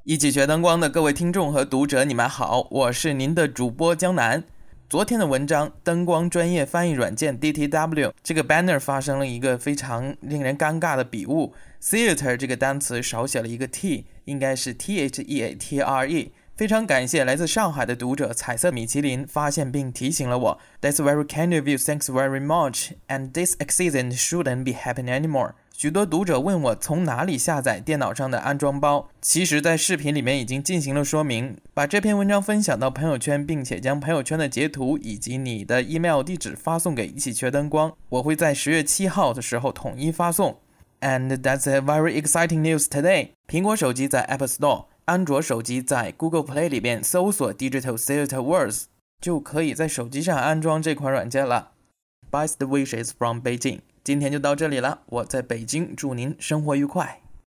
一起学灯光的各位听众和读者，你们好，我是您的主播江南。昨天的文章，灯光专业翻译软件 DTW 这个 banner 发生了一个非常令人尴尬的笔误 ，theater 这个单词少写了一个 t， 应该是 theatre。非常感谢来自上海的读者彩色米其林发现并提醒了我。That's very kind of you, thanks very much. And this accident shouldn't be happening anymore. 许多读者问我从哪里下载电脑上的安装包，其实在视频里面已经进行了说明。把这篇文章分享到朋友圈，并且将朋友圈的截图以及你的 email 地址发送给一起学灯光，我会在10月7号的时候统一发送。And that's a very exciting news today. 苹果手机在 App Store， 安卓手机在 Google Play 里边搜索 Digital Theater Words， 就可以在手机上安装这款软件了。Best wishes from Beijing。今天就到这里了，我在北京，祝您生活愉快。